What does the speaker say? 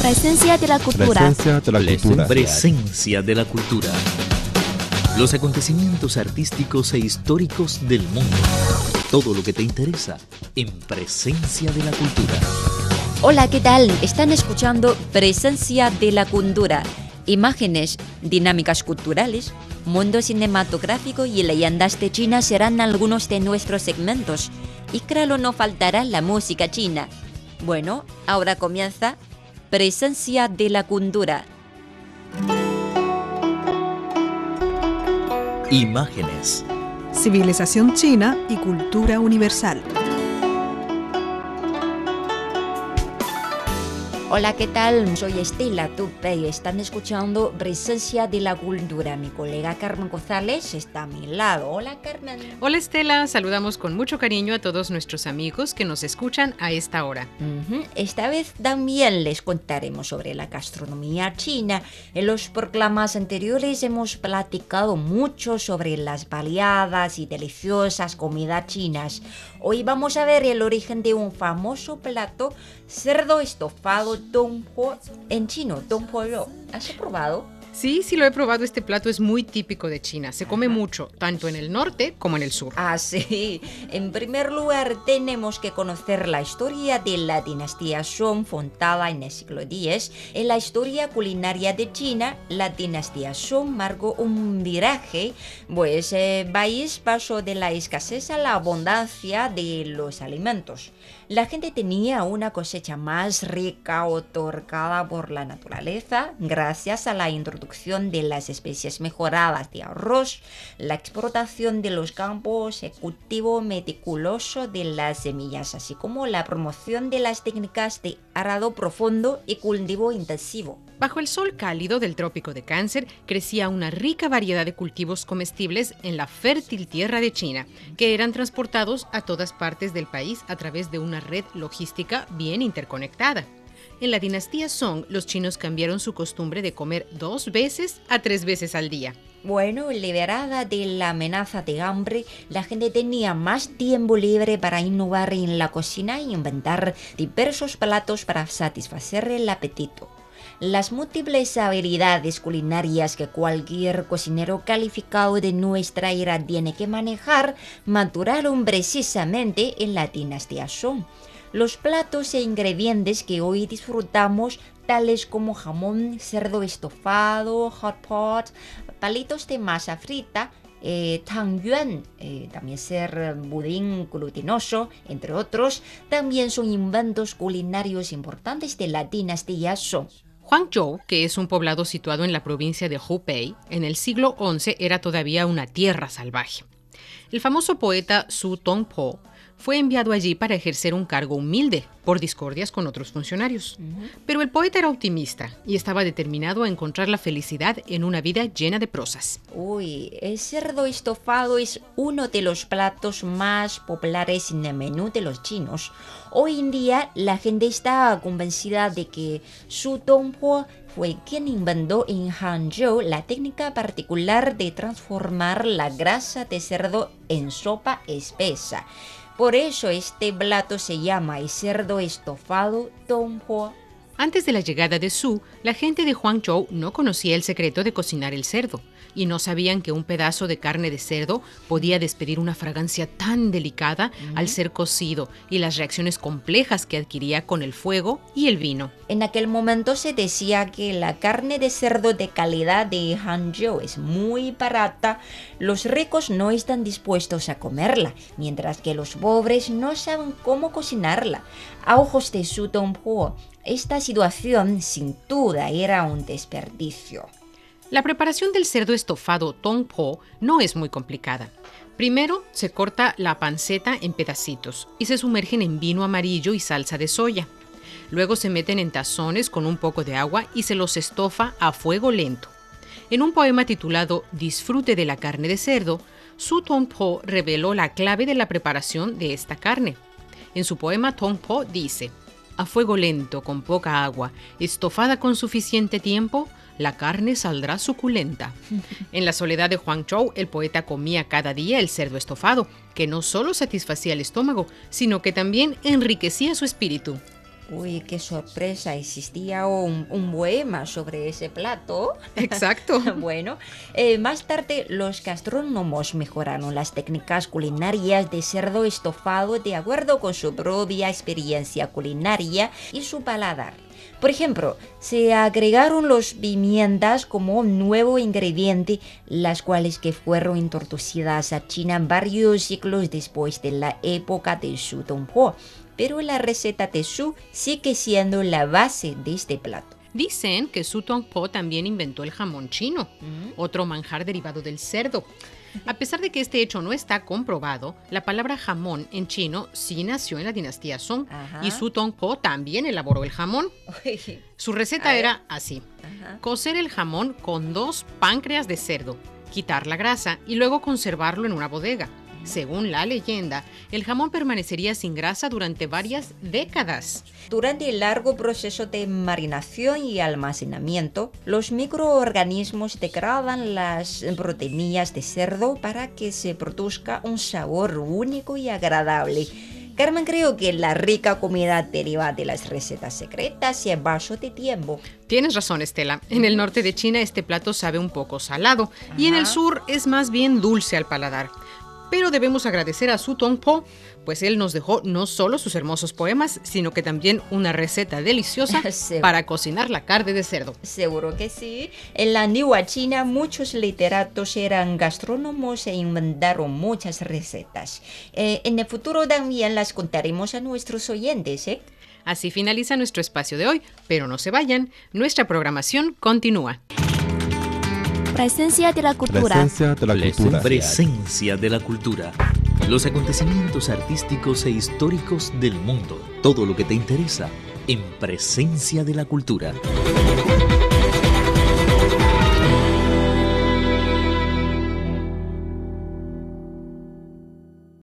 Presencia de la cultura. Presencia de la cultura. Presencia de la cultura. Los acontecimientos artísticos e históricos del mundo. Todo lo que te interesa en Presencia de la cultura. Hola, ¿qué tal? Están escuchando Presencia de la cultura. Imágenes, dinámicas culturales, mundo cinematográfico y leyendas de China serán algunos de nuestros segmentos. Y claro, no faltará la música china. Bueno, ahora comienza Presencia de la cultura. Imágenes. Civilización china y cultura universal. Hola, ¿qué tal? Soy Estela Tupe y están escuchando Presencia de la cultura. Mi colega Carmen González está a mi lado. Hola, Carmen. Hola, Estela. Saludamos con mucho cariño a todos nuestros amigos que nos escuchan a esta hora. Esta vez también les contaremos sobre la gastronomía china. En los programas anteriores hemos platicado mucho sobre las variadas y deliciosas comidas chinas. Hoy vamos a ver el origen de un famoso plato, cerdo estofado Dong Po, en chino, Dong Po Rou. ¿Has probado? Sí, lo he probado. Este plato es muy típico de China. Se come mucho, tanto en el norte como en el sur. Ah, sí. En primer lugar, tenemos que conocer la historia de la dinastía Song, fundada en el siglo X. En la historia culinaria de China, la dinastía Song marcó un viraje, pues el país pasó de la escasez a la abundancia de los alimentos. La gente tenía una cosecha más rica otorgada por la naturaleza gracias a la introducción de las especies mejoradas de arroz, la explotación de los campos, el cultivo meticuloso de las semillas, así como la promoción de las técnicas de arado profundo y cultivo intensivo. Bajo el sol cálido del trópico de Cáncer crecía una rica variedad de cultivos comestibles en la fértil tierra de China, que eran transportados a todas partes del país a través de una red logística bien interconectada. En la dinastía Song, los chinos cambiaron su costumbre de comer 2 veces a 3 veces al día. Bueno, liberada de la amenaza de hambre, la gente tenía más tiempo libre para innovar en la cocina e inventar diversos platos para satisfacer el apetito. Las múltiples habilidades culinarias que cualquier cocinero calificado de nuestra era tiene que manejar maturaron precisamente en la dinastía Song. Los platos e ingredientes que hoy disfrutamos, tales como jamón, cerdo estofado, hot pot, palitos de masa frita, tangyuan, también ser budín glutinoso, entre otros, también son inventos culinarios importantes de la dinastía Song. Huangzhou, que es un poblado situado en la provincia de Hubei, en el siglo XI era todavía una tierra salvaje. El famoso poeta Su Tongpo fue enviado allí para ejercer un cargo humilde por discordias con otros funcionarios. Pero el poeta era optimista y estaba determinado a encontrar la felicidad en una vida llena de prosas. El cerdo estofado es uno de los platos más populares en el menú de los chinos. Hoy en día la gente está convencida de que Su Tongpo fue quien inventó en Hangzhou la técnica particular de transformar la grasa de cerdo en sopa espesa. Por eso este plato se llama el cerdo estofado Tongpo. Antes de la llegada de Su, la gente de Huangzhou no conocía el secreto de cocinar el cerdo y no sabían que un pedazo de carne de cerdo podía despedir una fragancia tan delicada al ser cocido y las reacciones complejas que adquiría con el fuego y el vino. En aquel momento se decía que la carne de cerdo de calidad de Hangzhou es muy barata. Los ricos no están dispuestos a comerla, mientras que los pobres no saben cómo cocinarla. A ojos de Su Tongpo, esta situación sin duda era un desperdicio. La preparación del cerdo estofado Tongpo no es muy complicada. Primero se corta la panceta en pedacitos y se sumergen en vino amarillo y salsa de soya. Luego se meten en tazones con un poco de agua y se los estofa a fuego lento. En un poema titulado Disfrute de la carne de cerdo, Su Tongpo reveló la clave de la preparación de esta carne. En su poema Tongpo dice: a fuego lento, con poca agua, estofada con suficiente tiempo, la carne saldrá suculenta. En la soledad de Huangzhou, el poeta comía cada día el cerdo estofado, que no solo satisfacía el estómago, sino que también enriquecía su espíritu. Uy, qué sorpresa, existía un poema sobre ese plato. Exacto. Bueno, más tarde los gastrónomos mejoraron las técnicas culinarias de cerdo estofado de acuerdo con su propia experiencia culinaria y su paladar. Por ejemplo, se agregaron los pimientas como un nuevo ingrediente, las cuales que fueron introducidas a China varios siglos después de la época de Su Tongpo. Pero la receta de Su sigue siendo la base de este plato. Dicen que Su Tongpo también inventó el jamón chino, otro manjar derivado del cerdo. A pesar de que este hecho no está comprobado, la palabra jamón en chino sí nació en la dinastía Song. Ajá. Y Su Tongpo también elaboró el jamón. Su receta era así: cocer el jamón con 2 páncreas de cerdo, quitar la grasa y luego conservarlo en una bodega. Según la leyenda, el jamón permanecería sin grasa durante varias décadas. Durante el largo proceso de marinación y almacenamiento, los microorganismos degradan las proteínas de cerdo para que se produzca un sabor único y agradable. Carmen, creo que la rica comida deriva de las recetas secretas y el paso de tiempo. Tienes razón, Estela. En el norte de China este plato sabe un poco salado y en el sur es más bien dulce al paladar. Pero debemos agradecer a Su Tongpo, pues él nos dejó no solo sus hermosos poemas, sino que también una receta deliciosa para cocinar la carne de cerdo. Seguro que sí. En la antigua China muchos literatos eran gastrónomos e inventaron muchas recetas. En el futuro también las contaremos a nuestros oyentes, ¿eh? Así finaliza nuestro espacio de hoy, pero no se vayan, nuestra programación continúa. Presencia de la cultura. Presencia de la cultura. Presencia de la cultura. Los acontecimientos artísticos e históricos del mundo. Todo lo que te interesa en Presencia de la cultura.